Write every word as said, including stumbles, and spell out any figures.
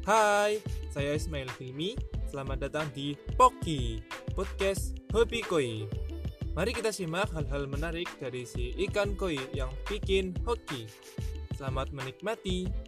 Hai, saya Ismail Hilmi. Selamat datang di Poki, podcast Hobi Koi. Mari kita simak hal-hal menarik dari si ikan koi yang bikin hoki. Selamat menikmati.